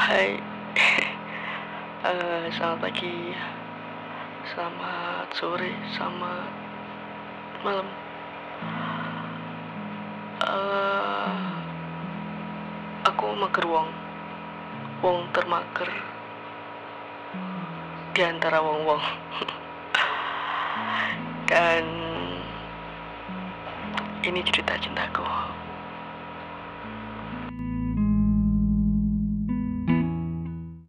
Hai, selamat pagi, selamat sore, selamat malam. Eh, aku mager wong termager di antara wong-wong. Dan ini cerita cintaku.